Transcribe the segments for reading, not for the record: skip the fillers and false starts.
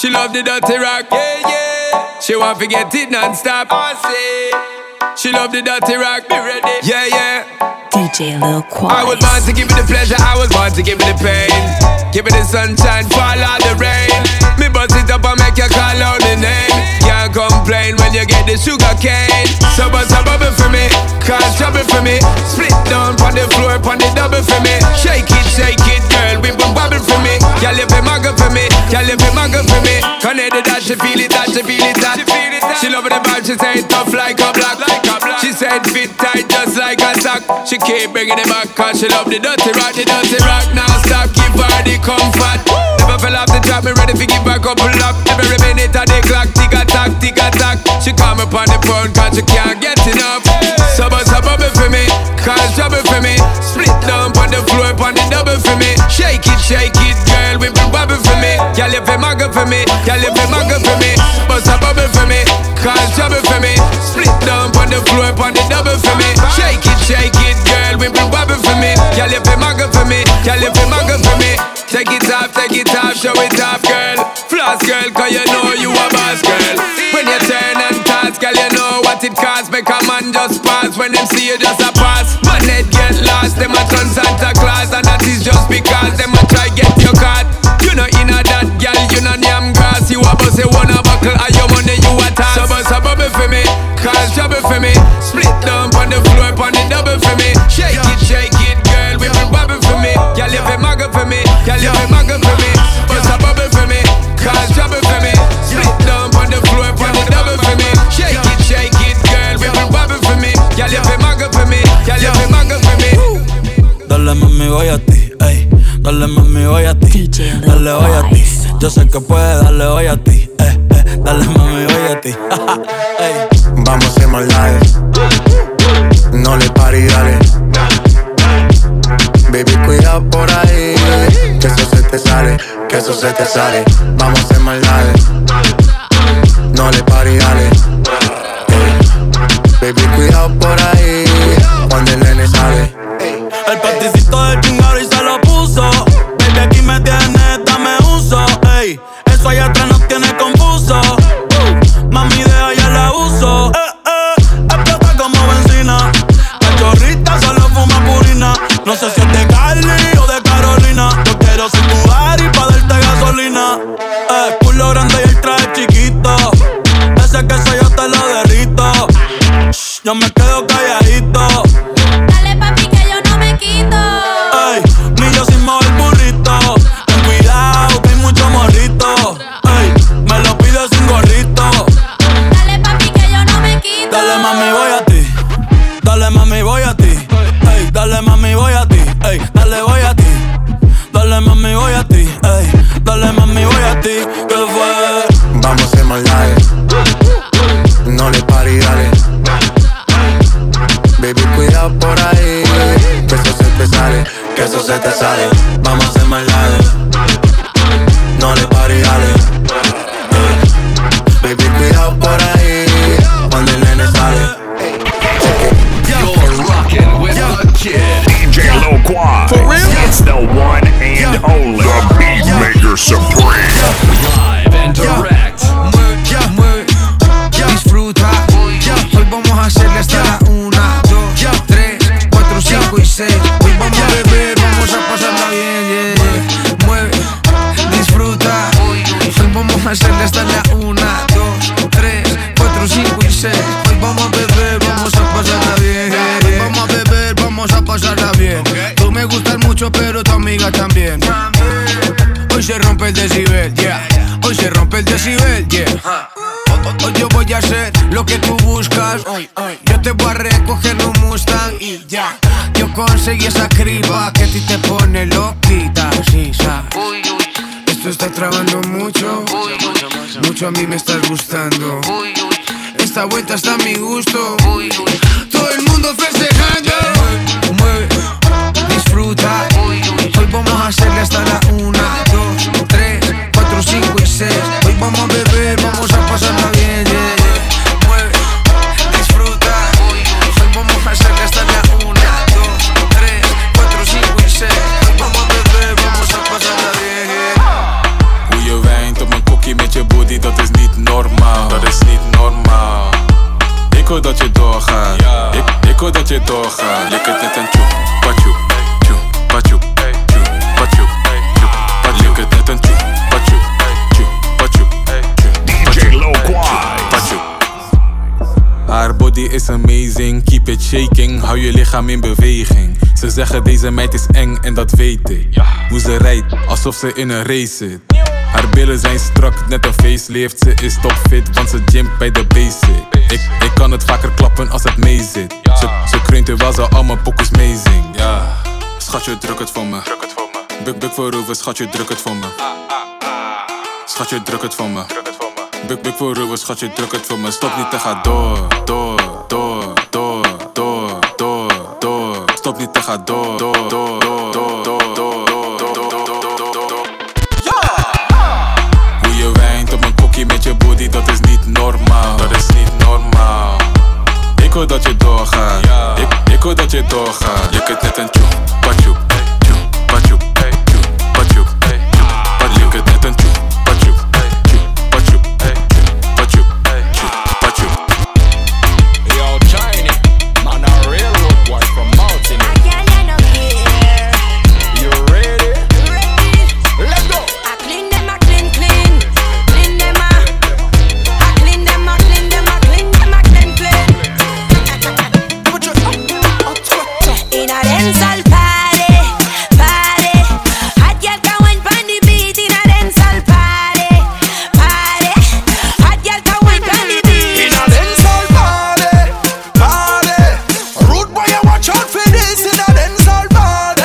She love the dirty rock, yeah, yeah. She want to get it non-stop. I say, she love the dirty rock, be ready, yeah, yeah. DJ Lil Quas. I was born to give you the pleasure, I was born to give you the pain. Give me the sunshine, fall out the rain. Me bust it up and make you call out the name. Can't complain when you get the sugar cane. So bust a bubble for me, cause trouble for me. Split down on the floor, on the double for me. Shake it, girl, we will bubble for me. Girl, you be muggle for me, girl, you be muggle for me. Connected that she feel it, that she feel it, that she love the vibe, she say it tough like a block. She said fit tight just like a sock. She keep bringing it back cause she love the dirty rock. Now stop, give her the comfort. Never fell off the track, me ready to give her a couple up. Every minute of the clock, tick a tack. She come up on the phone cause she can't get enough. So bust a bubble for me, cause trouble for me. Split down on the floor, on the double for me. Shake it, girl, we bring bubble for me. Girl, you fi muggle for me, girl, you fi muggle for me. Bust a bubble for me, cause trouble for me. Split down on the floor, on the double for me. Shake it, girl, we bring bubble for me. Girl, you fi muggle for me, girl, you fi muggle for me. Take it off, show it off, girl. Floss, girl, cause you know you a boss, girl. When you turn and toss, girl, you know what it costs. Make a man just pass when them see you just a pass. Man, head get lost, them a turn Santa Claus. And that is just because them a try get your card. You know in a that, girl, you know yam grass. You a bust a wanna buckle, and your money you a toss. So bust a bubble for me, cause trouble for me. Split down on the floor, on the double for me. Shake it, girl, we bring bubble for me. Girl, you fi muggle for me, girl, you fi muggle for me. Bust a bubble for me, cause trouble for me. Split down on the floor, on the double for me. Shake it, girl, we bring bubble for me. Girl, you fi muggle for me, girl, you fi muggle for me. Dale mami, voy a ti, ey. Dale mami, voy a ti. Dale, voy a ti. Yo sé que puedes, dale, voy a ti, Dale mami, voy a ti. Ey. Vamos a hacer maldades. No le pare y dale. Baby, cuidado por ahí. Que eso se te sale, que eso se te sale. Vamos a hacer maldades. No le pare y dale. Baby, cuidado por ahí. Cuando el nene sale. El paticito del chingado y se lo puso. Baby, aquí me tienes, dame uso. Ey, eso allá atrás nos tiene confuso. Mami, deja ya la uso. Explota como benzina. Cachorrita solo fuma purina. No sé si es de Cali o de Carolina. Yo quiero ser tu Ari pa' darte gasolina. Culo grande y el traje chiquito. Ese queso yo te lo derrito. Yo me quedo calladito. Dale papi que yo no me quito. Ey, ni yo sin mover burrito. Ten cuidado que hay mucho morrito. Ey, me lo pides sin gorrito. Dale papi que yo no me quito. Dale mami voy a ti. Dale mami voy a ti. Ey, dale mami voy a ti. Ey, dale voy a ti. Dale mami voy a ti. Ey, dale mami voy a ti. ¿Qué fue? Vamos a hacer maldades. No le pare y dale. Baby, cuidado por ahí. Que eso se te sale, que eso se te sale. Vamos a hacer maldades. No le pare y dale. Baby, cuidado por ahí. Cuando el nene sale. You're rockin' with the kid, DJ Lil Quas. For real? It's the one and only, the Beatmaker Supreme. Live and direct. Disfruta, hoy vamos a hacerle hasta la 1, 2, 3, 4, 5 y 6. Hoy vamos a beber, vamos a pasarla bien, yeah. Mueve, disfruta, hoy vamos a hacerle hasta la 1, 2, 3, 4, 5 y 6. Hoy vamos a beber, vamos a pasarla bien, hoy vamos a beber, vamos a pasarla bien. Tú me gustas mucho, pero tu amiga también. Hoy se rompe el decibel, yeah. Hoy se rompe el decibel, yeah. Hoy yo voy a hacer lo que tú buscas. Yo te voy a recoger un Mustang y ya. Yo conseguí esa criba que a ti te pone loquita, sí, sabes. Esto está trabando mucho. Mucho a mí me estás gustando. Esta vuelta está a mi gusto. Todo el mundo festejando. Mueve, disfruta. Hoy vamos a hacerle hasta la 1, 2, 3, 4, 5 y 6. Hoy vamos a beber, vamos a pasarla bien, yeah. Mueve, disfruta. Hoy vamos a hacerle hasta la 1, 2, 3, 4, 5 y 6. Hoy vamos a beber, vamos a pasarla bien, yeah. Hoe je wijnt op mijn kokkie met je hoor dat je doorgaat. Ik hoor dat je doorgaat. Je kunt net een tjoe, patjoe, tjoe, patjoe, tjoe, patjoe, tjoe, patjoe. Je kunt net een tjoe, patjoe, tjoe, patjoe, DJ Loquai. patjoe. Haar body is amazing, keep it shaking, hou je lichaam in beweging. Ze zeggen deze meid is eng en dat weet ik. Hoe ze rijdt, alsof ze in een race zit. Haar billen zijn strak, net een facelift. Ze is topfit, want ze gymt bij de basic. Ik kan het vaker klappen als het mee zit. Ze kreunt terwijl ze al mijn pokus meezingt. Ja, schatje druk het voor me. Buk voorover, schatje druk het voor me. Schatje druk het voor me. Buk voorover, schatje druk het voor me. Stop niet te gaan door. Stop niet te gaan door. Hoe je wijnt op een kokkie met je body, dat is niet normaal. Dat is niet normaal. Ik hoor dat je doorgaat. Ik hoor dat je doorgaat. Je kunt net een tjoe, patjoe, tjoe, patjoe, tjoe, patjoe, tjoe, patjoe. Je kunt net een tjoe, patjoe, tjoe, patjoe, tjoe, patjoe, tjoe, patjoe. Yo, Tiny, man, a real road boy from Mountain. You ready? Let's go. I clean them, I clean them, I clean them, I clean them, I clean them, I clean clean. In a dancehall party, hot girl can wine pon the beat. In a dancehall party, hot girl can wine pon the beat. In a dancehall party, rude boy, you watch out for this. In a dancehall party,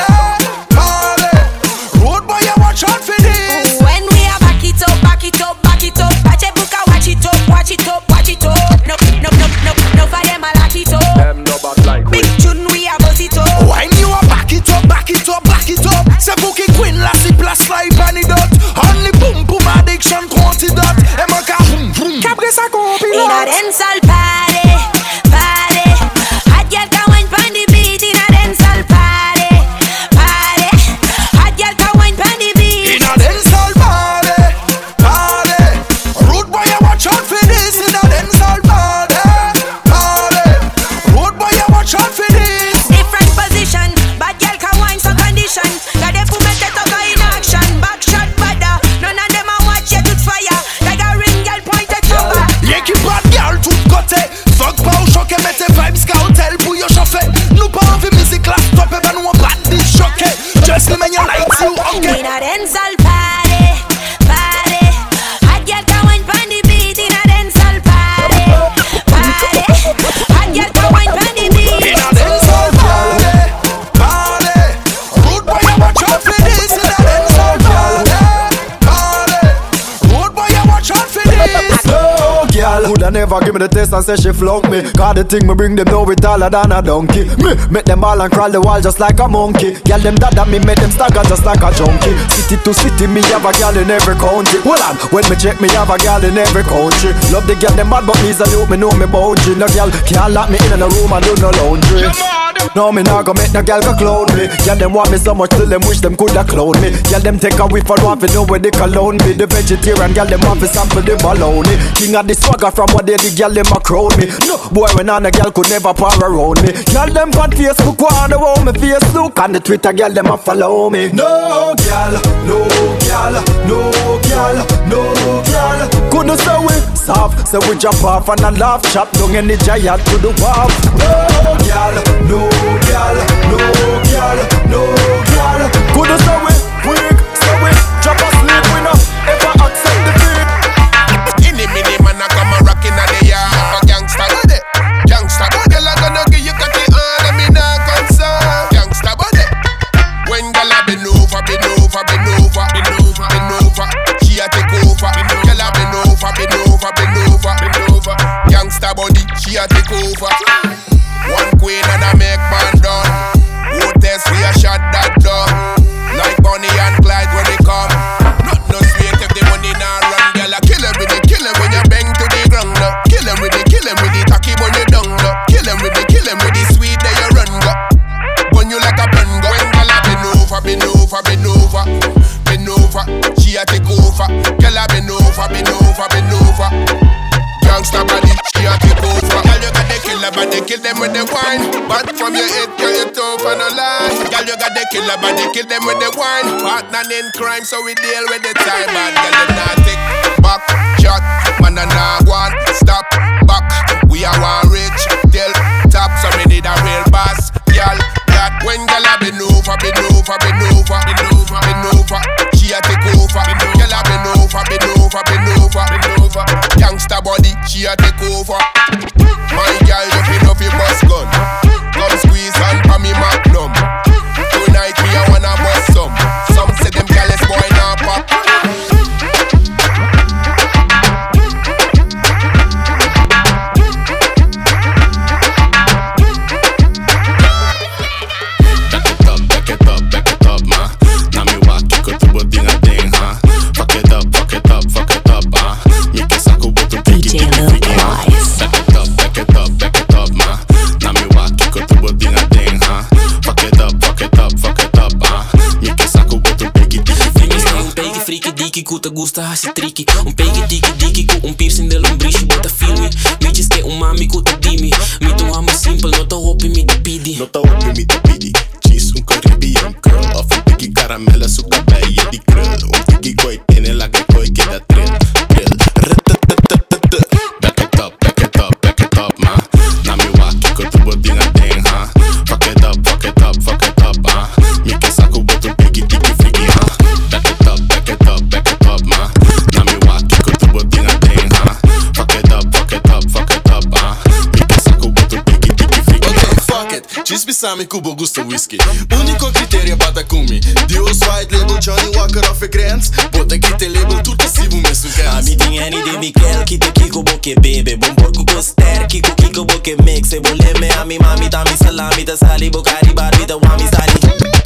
rude boy, you watch out for this. When we are back it up, back it up, back it up. Watch a book, watch it up, watch it up, watch it up. No for them I lock it up. Them no bad like Big tune we a buzz it up. When you are back it up, back it up, back it up. C'est Bookie Queen, lassie plus like antidote. Only boom boom addiction quantidot. Et mon cas boom boom. Cabré sa In a compilot. dancehall party, hot girl can wine pon the beat. In a dancehall party, hot girl can wine pon the beat. In a dancehall party, rude boy, you watch out for this. In a dancehall party, rude boy, you watch out for this. Different position, bad girl can wine some condition. Got the fool make it go in action. Back shot badder, none of them a watch you tout fire. Like a ring girl point it over. Y'a qui bad girl tout côté. Fuck pas au choc et mettez vibes scout pour yo chauffer. Nous pas envie musique là, stop et ben nous on bat des choqués. Just let me your lights you okay. In a dancehall party, hot girl can wine pon the beat. In a dancehall party, hot girl can wine pon the beat. In a dancehall party, rude boy you watch out for this. In a dancehall party, rude boy you watch out for this. Oh, girl, coulda never give me the taste and say she flunk me. Cause the thing me bring them know it taller than a donkey. Me make them all and crawl the wall just like a monkey. Girl them dada me make them stagger just like a junkie. City to city me have a girl in every country. Hold on, when me check me have a girl in every country. Love the girl them bad but me salute me know me boundary. No girl can't lock me in a room and do no laundry. No me nah go make no girl go clown me. Girl them want me so much till them wish them coulda clone me. Girl them take a whiff and want to know where they cologne me. The vegetarian girl them want to sample the baloney. King of the swagger from what they the girl them a crown me. No boy when on a girl could never pour around me. Girl them on Facebook wanna want me face look on the Twitter girl them a follow me. No girl, no girl, no girl, no girl. Couldn't say we soft, so we jump off and a laugh chop down in the giant to the wharf. No girl, no girl, no girl, no girl. Couldn't say we quick, so we drop asleep we no ever accept defeat. Any minute man I come a rockin' at the yard. Gangsta body, gangsta body. Girl I gonna give you cut it on and me not concerned. Gangsta body. When girl I bend over, bend over, bend over, bend over, bend over, she a take over. Girl I bend over, bend over, bend over, bend over. Gangsta body, she a take over. One queen and I make man done. Who test we a shot that done. Like Bonnie and Clyde when they come. Not no sweet if the money not run. Girl I kill him with it, kill him when you bang to the ground. Kill him with the tacky when you down. Kill him with the sweet that you run. Bun you like a pen. When girl I bend over, bend over, bend over, bend over, she a take over. Girl I bend over, bend over, bend over. Gangsta body, she a take over. Girl you got the body, kill them with the wine. But from your head, girl, you tough and a lie. Girl, you got the killer body, kill them with the wine. Partner in crime, so we deal with the time. Bad girl, you not take back shot. Man, I not want stop back. We are one rich till top, so we need a real boss. Girl, that when girl I been over. She a take over. Girl I been over. Youngster body, she a take over. My girl, you feel up your bus gun. Come squeeze and pa me magnum. Tonight me I wanna bust some. Some say them careless boy now pop. Ku te gusta así tricky. Un pegue tiki tiki ku un piercing de lombrici. Bota filmi, mi diz que un mami ku te dimi. Mi tu amo simple, no te hopi mi te pidi. Cheese, un Caribbean girl. Of een tikkie karamellen, zoek bij je die krul. Un tikkie koi, tiene la que koi, que da trill. Back it up, ma. Na mi waki, ko tu body na ding, ha. Fuck it up, ah. Mi que saco, but un pegue tiki freaky, ha. Back it up, ma. Na mi waki, ko tu body na ding, ha. Fuck it up, ah. Mi que saco, but un pegue tiki freaky, ha. Okay, fuck it. Cheese besame kubo gusto whisky. Unico criterio bata kumi. Dios white label, Johnny Walker of a grants. Bota que te label, tudo passivo mesmo gans. A mi ting any de Mikel, kite kiko boke bebe. Bon porco coster, kiko boke mix. Se voleme a mi mami, ta mi salami, ta sali, bocari, barbi, ta wami sali.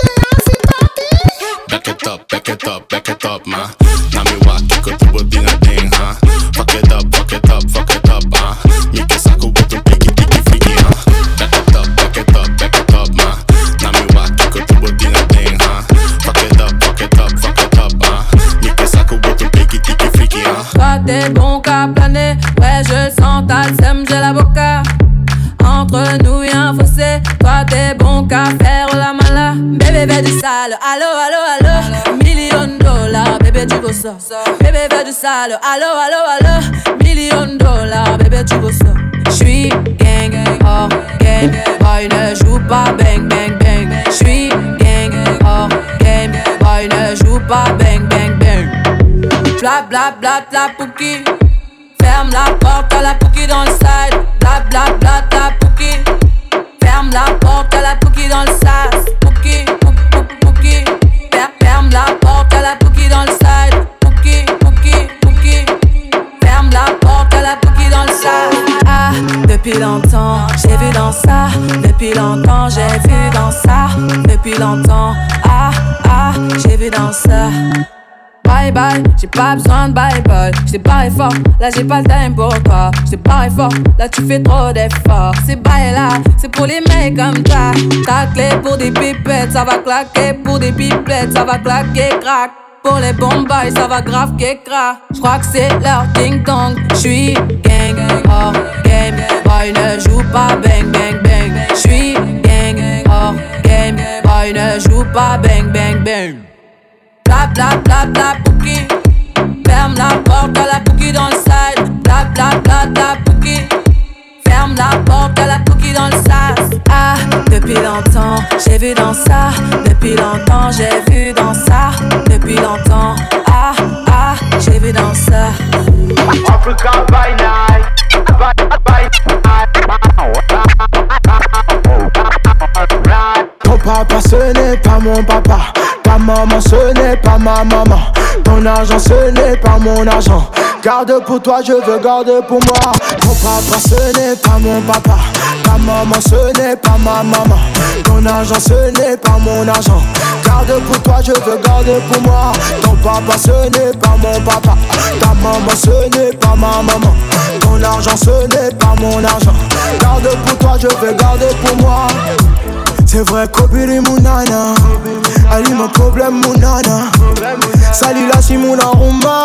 Back it up, ma. Na mi waki, ko tu body na ding, ha. Fuck it up, ah. Mi que saco, but un pegue tiki freaky, ha. Back it up, ma. Na mi waki, ko tu body na ding, ha. Fuck it up, ah. Mi que saco, but un pegue tiki freaky, ha. Toi t'es bon qu'à planer, ouais je sens ta sème, j'ai la boca. Entre nous y'a un fossé, toi t'es bon qu'à faire la mala. Bébé fais du sale, allo. $1,000,000, bébé tu veux ça. Bébé fais du sale, allo. $1,000,000, bébé tu veux ça. J'suis gang, hors game, boy ne joue pas bang. J'suis gang, hors game, boy ne joue pas bang. Bla la pouki. Ferme la porte à la pouki dans le side. Bla la pouki. Ferme la porte à la pouki dans le sas. Pouki. Ferme la porte à la pouki dans le side. Pouki. Ferme la porte à la pouki dans le sas. Ah, depuis longtemps, j'ai vu dans ça. Depuis longtemps, j'ai vu dans ça. Depuis longtemps, ah, j'ai vu dans ça. Bye, j'ai pas besoin de bye. J't'ai pas fort, là j'ai pas le time pour toi. J't'ai pas fort, là tu fais trop d'efforts. C'est bye là, c'est pour les mecs comme ça. Ta clé pour des pipettes, ça va claquer. Pour des pipettes, ça va claquer, crack. Pour les bombes, ça va grave qu'écra. J'crois que c'est leur ding dong. J'suis gang, hors game, boy ne joue pas bang. J'suis gang, hors game, boy ne joue pas bang. Bla pouki. Ferme la porte à la pouki dans le side. Bla pouki. Ferme la porte à la pouki dans le sas. Ah, depuis longtemps, j'ai vu dans ça. Depuis longtemps, j'ai vu dans ça. Depuis longtemps, ah, j'ai vu dans ça. Africa by night. Ton papa ce n'est pas mon papa. Ta maman ce n'est pas ma maman. Ton argent ce n'est pas mon argent. Garde pour toi, je veux garder pour moi. Ton papa ce n'est pas mon papa. Ta maman ce n'est pas ma maman. Ton argent ce n'est pas mon argent. Garde pour toi, je veux garder pour moi. Ton papa ce n'est pas mon papa. Ta maman ce n'est pas ma maman. Ton argent ce n'est pas mon argent. Garde pour toi, je veux garder pour moi. C'est vrai kobiri munana. Ali mon problème munana. Sali la si muna rumba.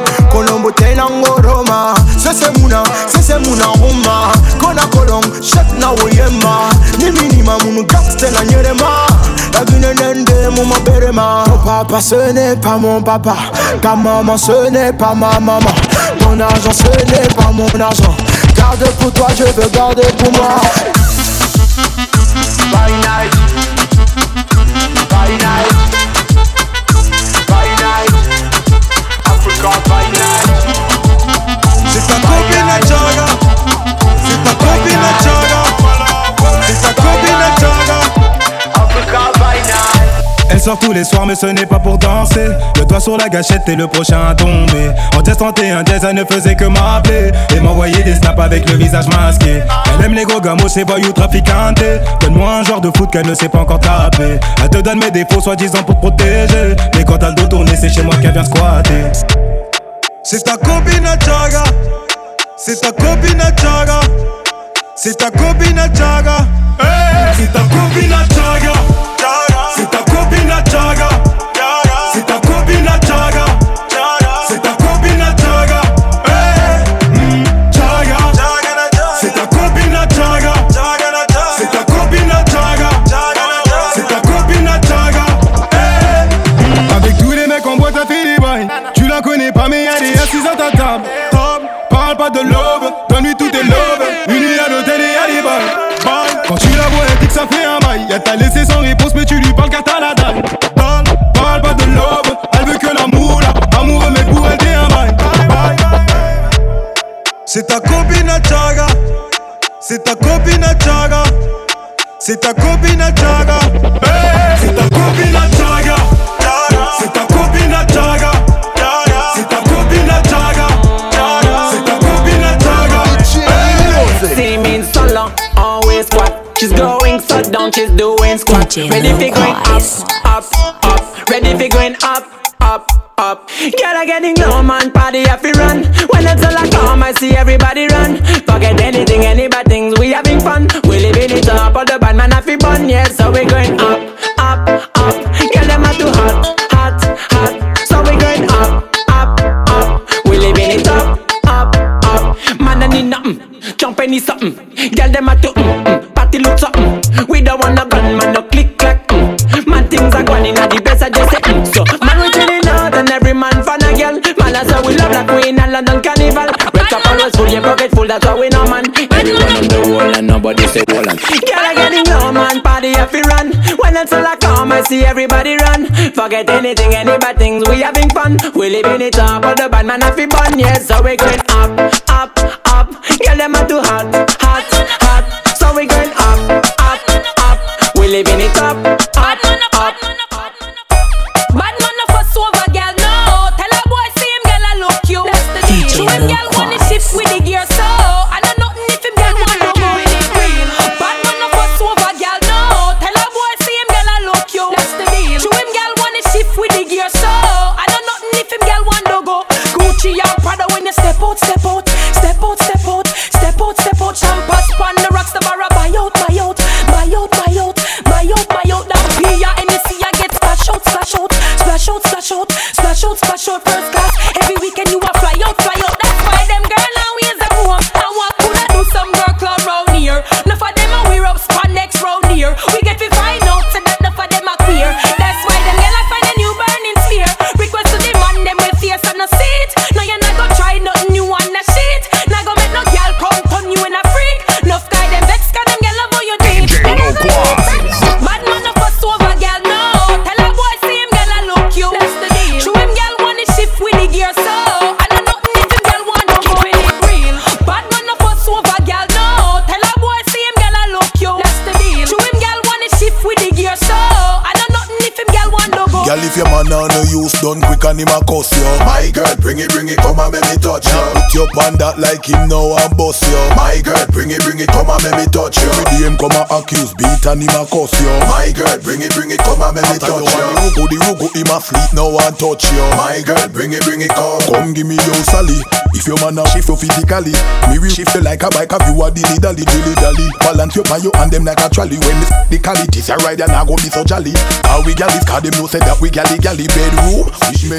Colombo tenango Roma. C'est muna rumba. Kona kolong, chef na woyema ni minima munu gangster na nyerema la vine nende mon berema. Mon papa ce n'est pas mon papa, ta maman ce n'est pas ma maman, ton argent ce n'est pas mon argent, garde pour toi je veux garder pour moi. By night, by night, by night, Africa by night. C'est ta copine à Jaga, c'est ta copine à Jaga, c'est ta copine à Jaga, Africa by night. Elle sort tous les soirs mais ce n'est pas pour danser. Le doigt sur la gâchette et le prochain à tomber. En test 31 jazz elle ne faisait que m'appeler et m'envoyer des snaps avec le visage masqué. Elle aime les gros gamos, ses voyous trafiquantes. Donne-moi un genre de foot qu'elle ne sait pas encore taper. Elle te donne mes défauts soi-disant pour te protéger, mais quand t'as le dos tourné c'est chez moi qu'elle vient squatter. c'est ta copine à Jaga, c'est ta copine à Jaga, c'est ta copine à Jaga, c'est ta copine à Jaga, c'est ta copine à Jaga, c'est ta copine à Jaga, c'est ta copine à Jaga, Jaga, c'est ta copine à Jaga, c'est ta copine à Jaga, c'est ta copine à Jaga. Avec tous les mecs en boîte à fait des bails. Tu la connais pas mais elle est assise à ta table. Parle pas de l'aube, donne-lui tout tes lobes. Une nuit à l'hôtel et à des balles. Quand tu la vois elle dit que ça fait un bail. Elle t'a laissé sans réponse mais tu lui parles car t'as la dalle. Parle pas de l'aube, elle veut que l'amour là. Amoureux mais pour elle t'es un bail. C'est ta copine à Jaga, c'est ta copine à Jaga, c'est ta copine à Jaga, c'est ta copine à Jaga, c'est ta copine à Jaga, c'est ta copine à Jaga, c'est ta copine à Jaga. See me in so long, always squat. She's going so down, she's doing squat. Ready for going up, up, up. Ready for going up, up, up. Girl, I getting low, man, party have to run. When it's all I come, I see everybody run. Forget anything, any bad things, we having fun. We living it up, all the bad man have to bun. Yeah, so we going up, up, up. Girl, them are too hot, hot, hot. So we going up, up, up. We living it up, up, up. Man, I need nothing, jump any something. Girl, them are too party look something. We don't want no gun, man, no click clack. Man, things are going in at the best, I just say so. Man, we chilling out and every man fan a girl. Man, that's how we love like we in a London carnival. Red cup always full, your pocket full, that's how we know, man. Everyone on the wall and nobody say Holland. Girl, I getting low, man, party if we run. When it's all I come, I see everybody run. Forget anything, any bad things, we having fun. We living it up, all the bad man have to bun. Yes, so we going up, up, up. Girl, them are too hot, hot, hot. So we going up, up, up. We living it up, up, up. Bad man no fuss over girl, no. Tell a boy see him girl I look you. Show him girl wanna shift with the gear so. I know nothing if him girl want to go in it real. Bad man no fuss over girl, no. Tell a boy see him girl I look you. That's the deal. Show him girl wanna shift with the gear so. I know nothing if him girl want to go. Gucci and Prada when you step out, step out, step out, step out, step out, step out. Champagne span the rocks the bar buy out, buy out, buy out, buy out, buy out, buy out. That beer and you see I get splash out, splash out, splash out, splash out, splash out, splash out. First class every weekend you a fly out, fly out. That's why them girl always a home. I want coulda do some girl club round here. Enough of them a wear up spandex round here. We get to find out so that enough of them a queer. That's why them girl a find a new burning sphere. Request to the man them with fierce and a seat. Now you not go try nothing new on the shit. Now go make no girl come turn you in a freak. Enough guy them vex 'cause them girl love how you do it. Bad man no fuss over girl, no. Tell a boy see him girl I look you. That's the deal. Show him girl wanna shift with the gear so. I know nothing if him girl want to go in it real. Bad man no fuss over girl, no. Tell a boy see him girl I look you. That's the deal. Show him girl wanna shift with the gear so. I know nothing if him girl want to go. Girl, if your man on no use done quick and him a cuss you. My girl, bring it, come and make me touch you. Put your on that like him now and bust you. My girl, bring it, come and make me touch you. Every day him come and accuse, beat and him a cuss you. My girl, bring it, come and make me touch you. The rugo, him a fleet now and touch you. My girl, bring it, come give me your Sally. If your man a shift you physically, me will shift you like a bike. Have you a dilly dally. Balance your pan you and them like a trolley. When the qualities you ride and I go be so jolly. How we gal is 'cause them know say that we galley bedroom. Fish me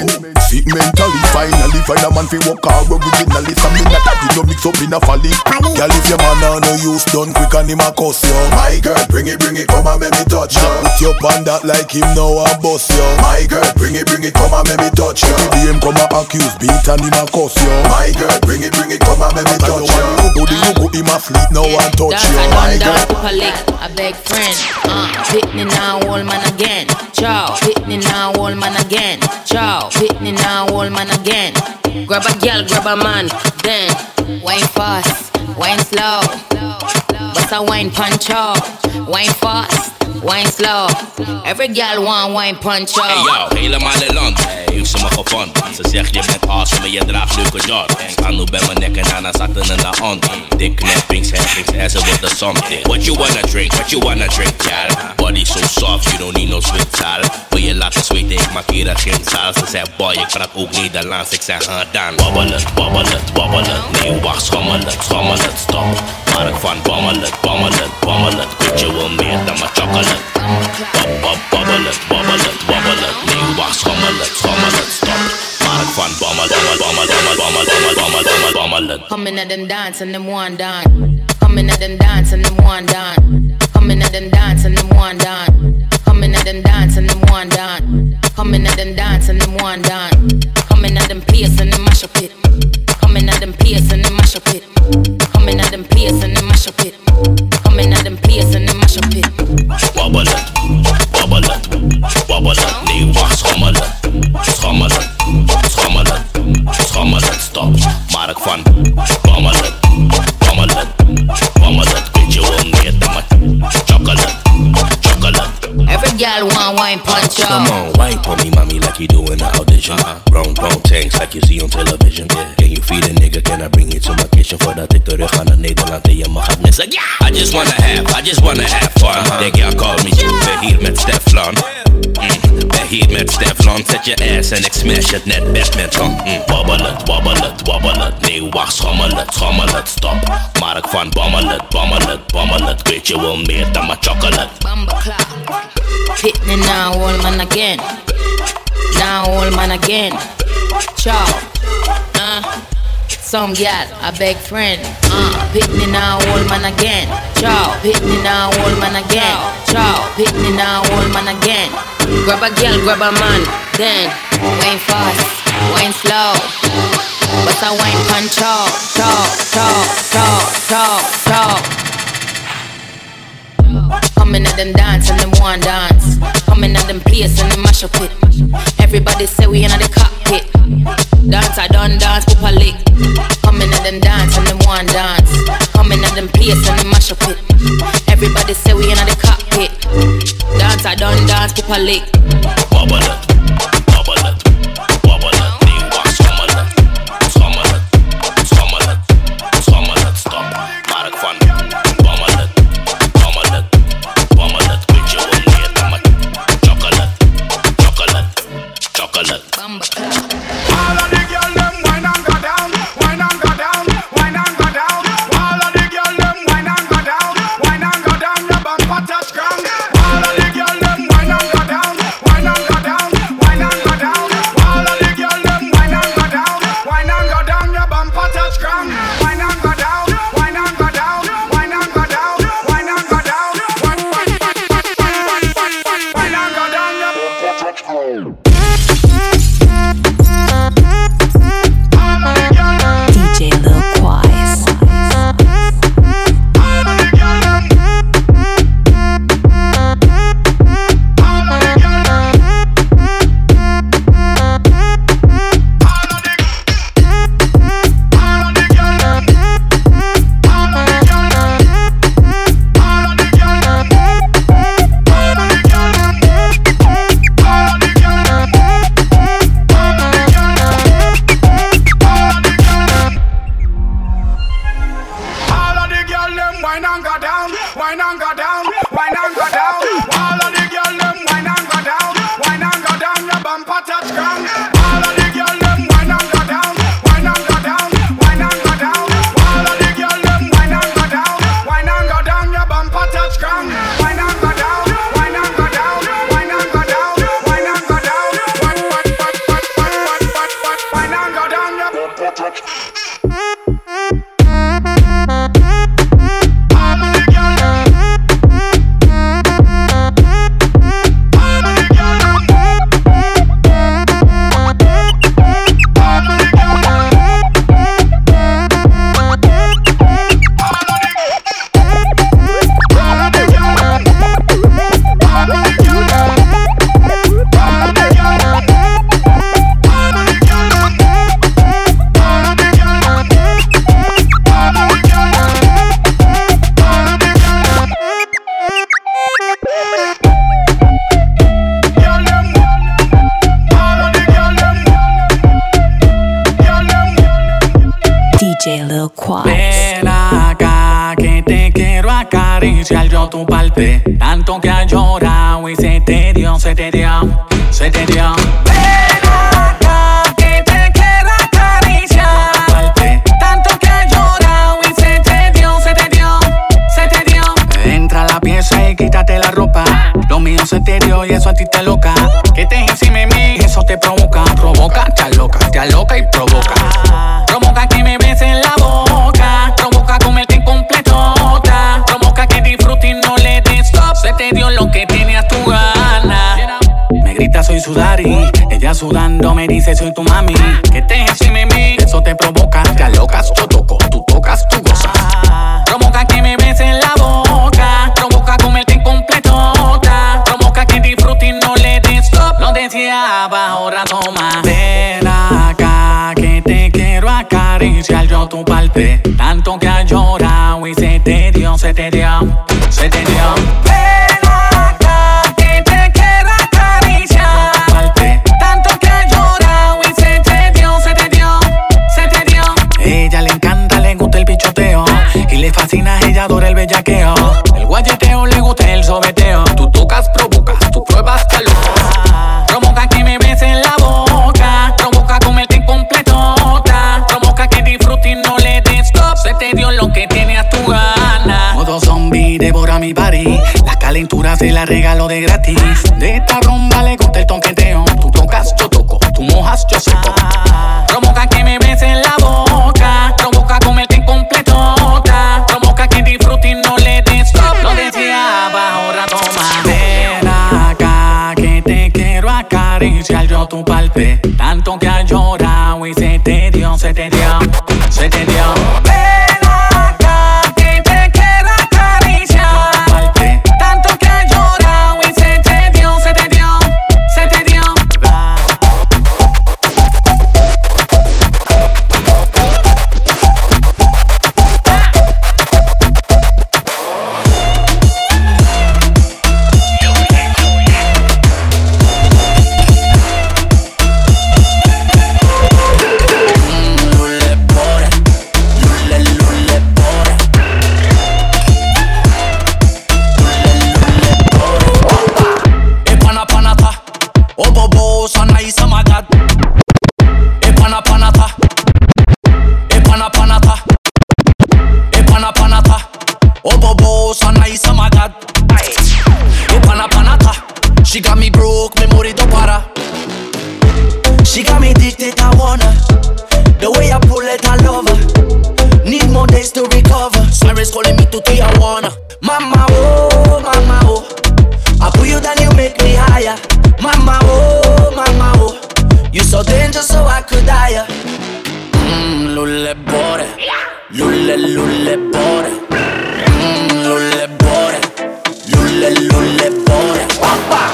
Sick mentally, finally find a man fi walk hard originally. Something that you no mix up in a folly. Girl, if your man on no use done quick and him a cuss you. My girl, bring it, come and make me touch you. Put your pan that like him now and bust you. My girl, bring it, come and make me touch you. Every day him come and accuse, beat and him a cuss you. My girl, bring it, come and make me touch you. You go him a sleep now and touch you. My girl, a big friend. Hit me now, old man again. Ciao, hit me now, old man again. Ciao, hit me now, old man again. Grab a girl, grab a man, then wine fast, wine slow. Bust a wine punch up. Wine fast, wine slow. Every girl want wine punch up. Hey yo, helemaal in land. Heeft ze me gevonden. Ze zegt je bent awesome, maar je draagt leuke jord. Sta nu bij mijn nek en daarna zaten in de hand. Dik knippings, heffings, en ze wordt de something. What you wanna drink, girl? Body so soft, you don't need no zwitsal. Wil je laten zweten, ik maak hier geen zaal. Ze zei boy, ik praat ook Nederlands, ik zeg gedaan. Babbelen, babbelen, babbelen. Nee, wacht, schommelen, schommelen, stop. Maar ik van bammelen, bammelen, bammelen. Weet je wel meer dan mijn chocolate. Babbelen, babbelen, babbelen. Nee, wacht, schommelen, schommelen, stop. Maar ik van bammelen, bammelen, bammelen, bammelen, bammelen. Coming at them dance and them one dance. Coming at them dance and them one dance. Coming at them dance and them one dance. Coming at them dance and them one dance. Coming at them dance and them one dance. Coming at them place and them mash up it. Coming at them place and them mash up it. Coming at them place and them mash up it. Coming at them place and them mash up it. Wobble it, wobble it, wobble it. Nee, wacht, schommelen, schommelen, schommelen, schommelen, stop. Maar ik van bammelen, bammelen, bammelen. Weet je wel meer dan mijn chocolate, chocolate. Every girl want wine punch up. Come on, wine for me, mommy, like you do in the audition. Brown tanks like you see on television. Can you feed a nigga? Can I bring you to my kitchen? Voordat ik terug ga naar Nederland en je mag het missen. Yeah! I just wanna have fun. De girl called me, ben hier met Stefan. Ben hier met Stefan. Zet je ass en ik smash het net badminton. Wobble it, wobble it, wobble it. Nee, wacht, schommel het, stop. Maar ik van bammel het. Weet je wel meer dan mijn chocolate. Hit me now, old man again. Now, old man again. Ciao. Some gal, a big friend. Hit me now, old man again. Ciao. Hit me now, old man again. Ciao. Hit me now, old man again. Grab a girl, grab a man. Then wine fast, wine slow. But I wine punch up. Talk. Coming at them dance and them one dance. Coming at them place and them mash up it. Everybody say we in the cockpit. Dance, I done dance, pop a lick. Coming at them dance and them one dance. Coming at them place and them mash up it. Everybody say we in the cockpit. Dance, I done dance, pop a lick. Wobble it, wobble it, wobble it. Nee, wacht, schommel het, schommel het, schommel het, schommel het, stop. Maar ik van bammel het, bammel het, bammel het. Weet je wel meer dan mijn chocolate, chocolate, chocolate. All of the girls them wine and go down, wine and go down, wine and go down. All of the girls them wine and go down, wine and go down. Your bumper touch ground. All of the girls them wine and go down, wine and DJ Lil Quas. Ven acá que te quiero acariciar yo tu parte. Tanto que has llorado y se te dio, se te dio, se te dio. Ven acá que te quiero acariciar. Tanto que has llorado y se te dio, se te dio, se te dio. Entra a la pieza y quítate la ropa. Lo mío se te dio y eso a ti te loca. Que te encima de mí, eso te provoca. Provoca, te aloca y provoca. Provoca que me beses en la boca. Provoca comerte en completota. Provoca que disfrutes y no le des stop. Se te dio lo que tenías tu gana. Me grita soy su daddy. Ella sudando me dice soy tu mami. Que te encima de mí, eso te provoca. Te alocas, yo toco, tú tocas, tú gozas. Provoca que me beses en la boca. Provoca comerte en completota. Provoca que disfrutes y no le des stop. Lo deseaba, ahora toma. Ven acá que te quiero acariciar yo tu parte. Tanto que has llorado y se te dio, se te dio, se te dio. Ven acá que te quiero acariciar. Tanto que has llorado y se te dio, se te dio, se te dio. Ella le encanta, le gusta el pichoteo. Y le fascina, ella adora el bellaqueo. El guayeteo le gusta el sobeteo. Tú tocas, provocas, tú pruebas, te locas. Provoca que me beses en la boca. Provoca comerte en completota. Provoca que disfrutes y no le des stop. Se te dio lo que tenías tu gana. Modo zombie, devora mi body. La calentura se la regalo de gratis. De esta rumba le gusta el tonqueteo. Tú tocas, yo toco. Tú mojas, yo seco. Provoca que me beses en la boca. Provoca comerte en completota. Provoca que disfrutes y no le des stop. Lo deseaba, ahora toma. Ven acá que te quiero acariciar yo tu parte. Tanto que has llorado y se te dio, se te dio, se te dio. Ven acá que te quiero acariciar. Tanto que has llorado y se te dio, se te dio, se te dio. She got me broke, memory don't para. She got me addicted, I wanna. The way I pull it, I love her. Need more days to recover. Sirens calling me to Tijuana. Mama, oh. I put you down, you make me higher. Mama, oh. You so dangerous, so I could die. Lulle bore. Lulle bore. Lulle bore. Lulle bore. Papa.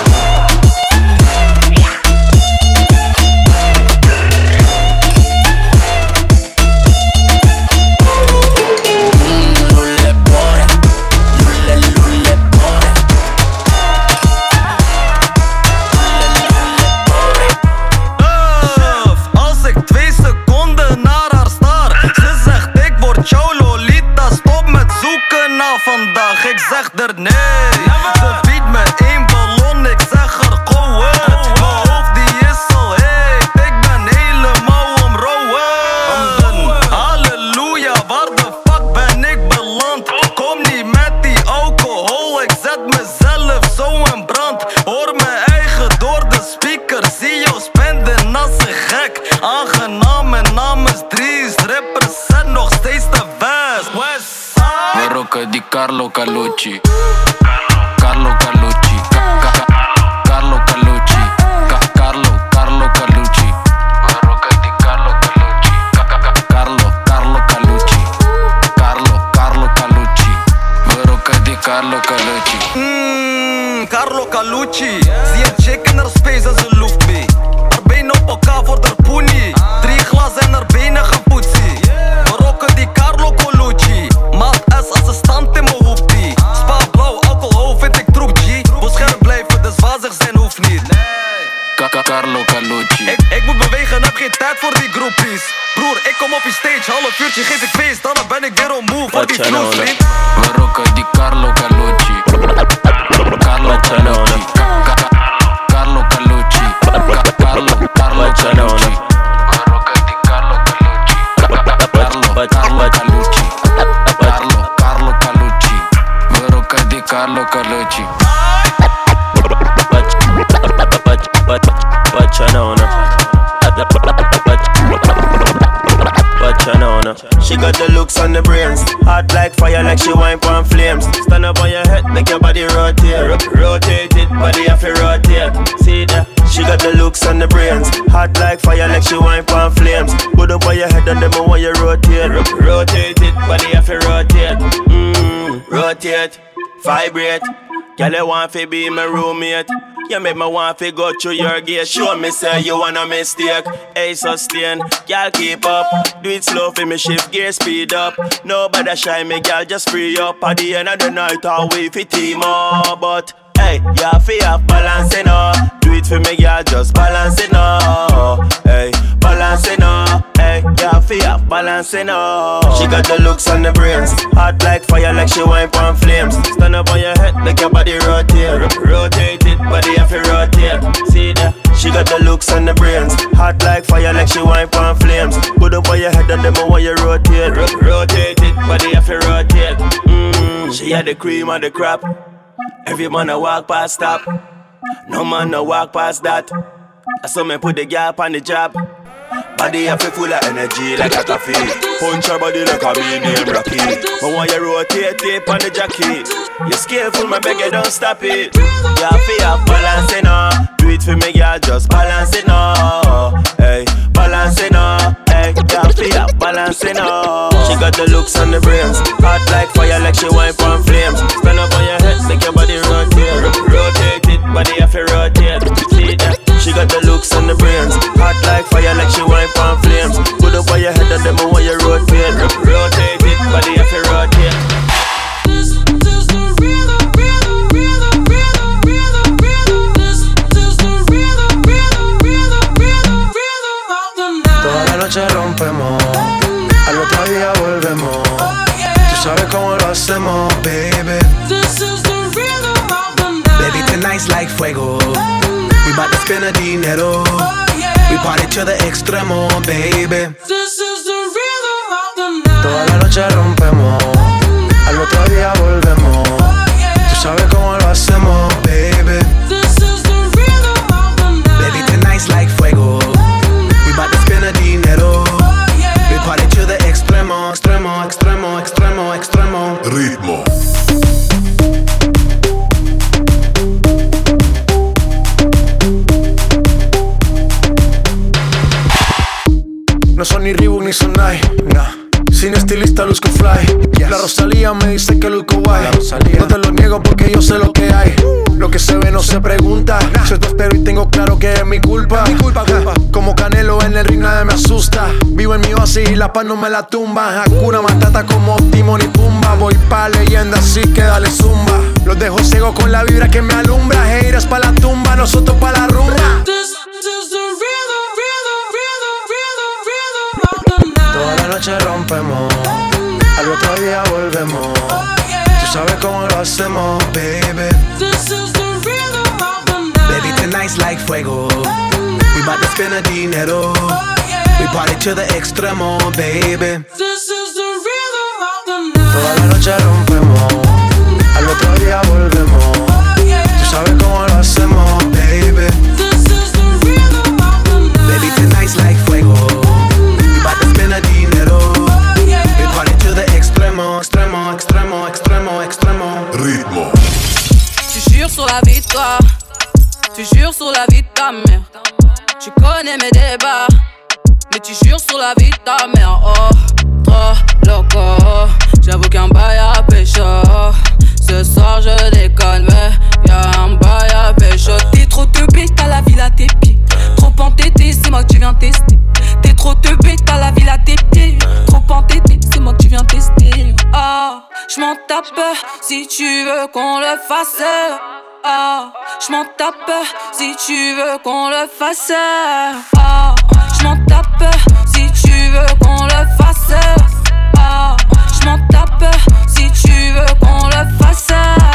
Vandaag, ik zeg er nee. Ze biedt me één ballon, ik zeg er go it. Mijn hoofd die is al heet, ik ben helemaal omrouwen. Halleluja, waar de fuck ben ik beland? Kom niet met die alcohol, ik zet mezelf zo in brand. Hoor mijn eigen door de speaker, zie jou spenden als een gek. Aangenaam en namens 3 Carlo Calucci. Carlo Calucci. Carlo Calucci. Carlo Calucci. Barroca di Carlo Calucci. Carlo Calucci. Carlo Calucci. Barroca di Carlo Calucci. Carlo Calucci. Zie een chick in haar space en ze loeft mee. Haar benen op elkaar voor haar poenie. 3 glazen en haar benen gaan poetsie. Barroca di Carlo Calucci. Maat S assistent in mijn hoofdie. Spa blauw, alcohol vind ik troep G. Wil scherp blijven, dus wazig zijn hoeft niet. Carlo Calucci. Ik moet bewegen, heb geen tijd voor die groepies. Broer, ik kom op je stage, half uurtje geef ik feest. Dan ben ik weer on move voor die vloes, vriend. Barroca di Carlo Calucci. Carlo Calucci. Carlo Calucci. Carlo Calucci. Barroca di Carlo Calucci. Carlo Calucci. Carlo Calucci. Barroca di Carlo Calucci. She got the looks on the brains, hot like fire, like she wine on flames. Stand up on your head, make your body rotate. Rotate it, body have to rotate. See that? She got the looks on the brains, hot like fire, like she wine on flames. Put up on your head and them want you rotate. Rotate it, body have to rotate. Rotate, vibrate. Girl, you want to be my roommate. You make me want to go through your gate. Show me say you want a mistake. Hey, sustain, girl, keep up. Do it slow for me, shift gear, speed up. Nobody shy me, girl, just free up. At the end of the night, I'll wait for team up. But hey, you have to have balance, you know. Do it for me, girl, just balance, you know. Hey, balance, you know. Hey, you have to have balance, you know. She got the looks on the brains, hot like fire, like she wine on flames. Stand up on your head, make your body rotate. Rotate it, body have to rotate. See that? She got the looks on the brains, hot like fire, like she wine on flames. Put up on your head and them want you rotate. Rotate it, body have to rotate. She had the cream of the crap. Every man a walk past stop. No man no walk past that. I saw me put the gap on the job. Body have to full of energy like a coffee. Punch her body like a me name Rocky. But when you rotate tape on the jacket, you skillful, my beg you don't stop it. You have to have balance, you know. Do it for me, girl, just balance it now. Hey, balance it now. Hey, you have to have balance, you know. She got the looks on the brains, hot like fire, like she wine on flames. Stand up on your head, make your body rotate. Rotate it, body have to rotate. See that? She got the looks on the brains, hot like fire, like she wine on flames. Put up on your head and them want you rotate. Rotate it, body have to rotate. Toda la noche rompemos, al otro día volvemos. Tú sabes cómo lo hacemos, baby. Baby, tonight's like fuego. We bout to spend a dinero. We party to the extremo, baby. Toda la noche rompemos, al otro día volvemos. Tú sabes cómo lo hacemos, baby. Baby, tonight's like fuego. We bout to spend a dinero. We party to the extremo, extremo, extremo, extremo, extremo. Ritmo. No son ni Reebok ni Sonai, nah. Sin estilista luzco fly, yes. La Rosalía me dice que luzco guay. No te lo niego porque yo sé lo que hay. Lo que se ve no se pregunta, nah. Soy tostero y tengo claro que es mi culpa. Culpa. Como Canelo en el ring nadie me asusta. Vivo en mi oasis y la paz no me la tumba. Hakuna Matata como Timon y Pumba. Voy pa' leyenda así que dale zumba. Los dejo ciego con la vibra que me alumbra. Haters pa' la tumba, nosotros pa' la rumba. Toda la noche rompemos, al otro día volvemos. Tú sabes cómo lo hacemos, baby. Baby, tonight's like fuego. We bout to spend a dinero. We party to the extremo, baby. Toda la noche rompemos, al otro día volvemos. Tú sabes cómo lo hacemos, baby. Baby, tonight's like fuego. Dinero. We party to the extremo, extremo, extremo, extremo, extremo. connais mes débats. Mais tu jures sur la vie de ta mère. Oh, trop loco. J'avoue qu'un bail à pécho. Ce soir je déconne, mais y'a un bail à pécho. T'es trop teubé, t'as la ville à tes pieds. Trop entêté, c'est moi que tu viens tester. T'es trop teubé, t'as la ville à tes pieds. Trop entêté, c'est moi que tu viens tester. Ah, j'm'en tape si tu veux qu'on le fasse. Ah, j'm'en tape si tu veux qu'on le fasse. Ah, j'm'en tape si tu veux qu'on le fasse. Ah, j'm'en tape si tu veux qu'on le fasse.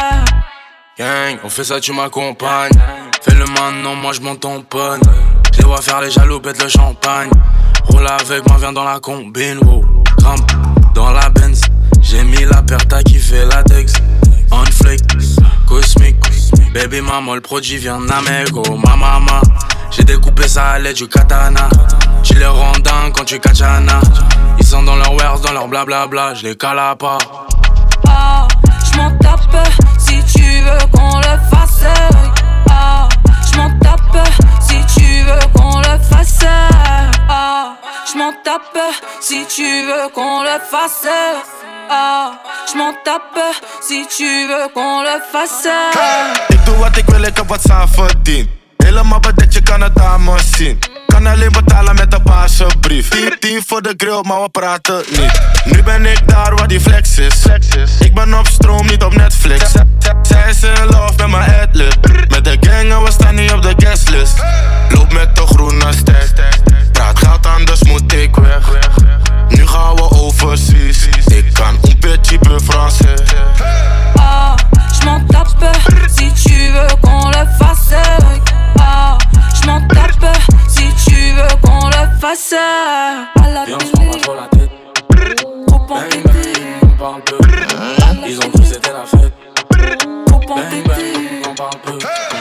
Gang, on fait ça, tu m'accompagnes. Fais-le maintenant, moi j'monte ton pun. Je les vois faire les jaloux, pète le champagne. Roule avec moi, viens dans la combine. Wow. Grimpe dans la Benz. J'ai mis la paire, t'as kiffé latex. On flick, cosmique. Baby maman, le produit vient d'Amérique. Ma maman, j'ai découpé ça à l'aide du katana. Tu les rends dingues quand tu kachana. Ils sont dans leur wares, dans leur blablabla. Je les cale à part. Ah, j'm'en tape si tu veux qu'on le fasse. Ah, j'm'en tape si tu veux qu'on le fasse. Ah, j'm'en tape si tu veux qu'on le fasse. Ah, j'm'en tape si tu veux qu'on le fasse. Ik doe wat ik wil, ik heb wat aan verdiend. Helemaal bedekt, je kan het aan me zien. Kan alleen betalen met een paasjebrief. 10 voor de grill, maar we praten niet. Nu ben ik daar waar die flex is. Ik ben op stroom, niet op Netflix. Zij is in love met mijn adlib. Met de gang en we staan niet op de guestlist. Loop met de groene stack. Praat geld, anders moet ik weg. Nu gaan we overseas. Ik kan un petit peu français. Ah, j'm'en tape si tu veux qu'on le fasse. Ah, j'm'en tape si tu veux qu'on le fasse. À la télé, trop entêté. On parle peu. Ils ont cru que c'était la fête. Trop entêté. On parle peu.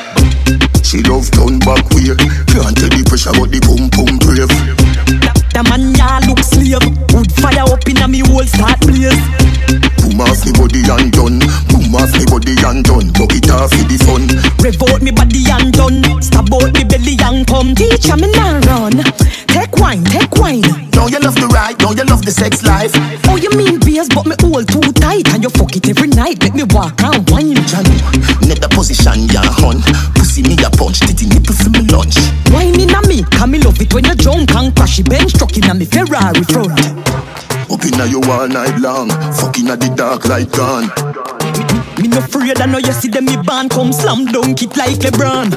She love turn back way. Can't tell the pressure but the pum pum brave. The man ya look slave. Wood fire up in a me whole start blaze. Boom off me body and done. Boom off me body and done. Buck it off for the fun. Rev out me body and done. Stab out me belly and come. Teacher me now run. Take wine, take wine. Now you love the ride, now you love the sex life. Oh you mean beers but me hold too tight. And you fuck it every night. Make me walk and wine. Johnny, net the position ya hun. Pussy me a punch, titty nipple for me lunch. Wine in a me, cause me love it when you drunk and crashy bench truck in a me Ferrari front. Up inna you all night long, fucking at the dark light gone. Me no afraid I know you see them me band come slam dunk it like LeBron.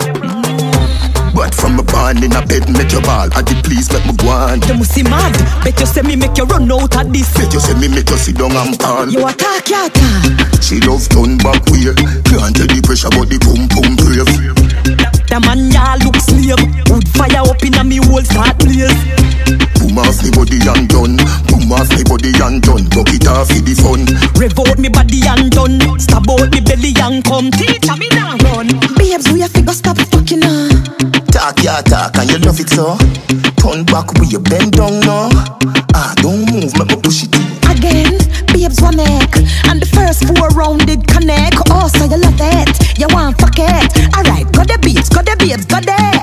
But from a band in a bed, make your ball. At the please make me go on. You must see mad. Bet you say me make you run out of this. Bet you say me make you sit down and pan. You attack, you attack. She love turn back way. Can't tell the pressure but the pum pum brave. The man ya look slave. Wood fire up in a me whole start blaze. Boom off me body and done. Boom off me body and done. Buck it off for the fun. Rev out me body and done. Stab out me belly and come. Teacher me now run. Babes, we have to go stop fucking her. Talk ya talk and you love it so. Turn back with your bend down now. Ah, don't move, make me push it again. Babes one neck and the first 4 round did connect. Oh, so you love it, you want fuck it. Alright, got the babes, got there.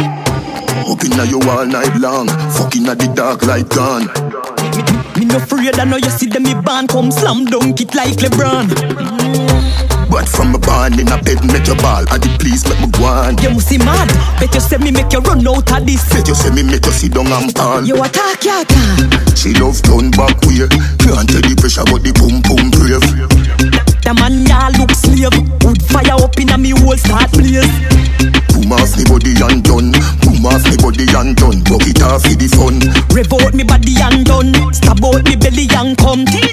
Up inna you all night long, fucking at the dark light gone. Me no afraid I know you see them me band come slam dunk it like LeBron. But from a band in a bed, make your ball. At the please make me go on. You must see mad. Bet you say me make you run out of this. Bet you say me make you sit down and pan. You attack, you attack. She love turn back way. Can't tell the pressure but the pum pum brave. The man ya look slave. Wood fire up in a me whole start blaze. Boom off me body and done. Boom off me body and done. Buck it off for the fun. Rev out me body and done. Stab out me belly and come.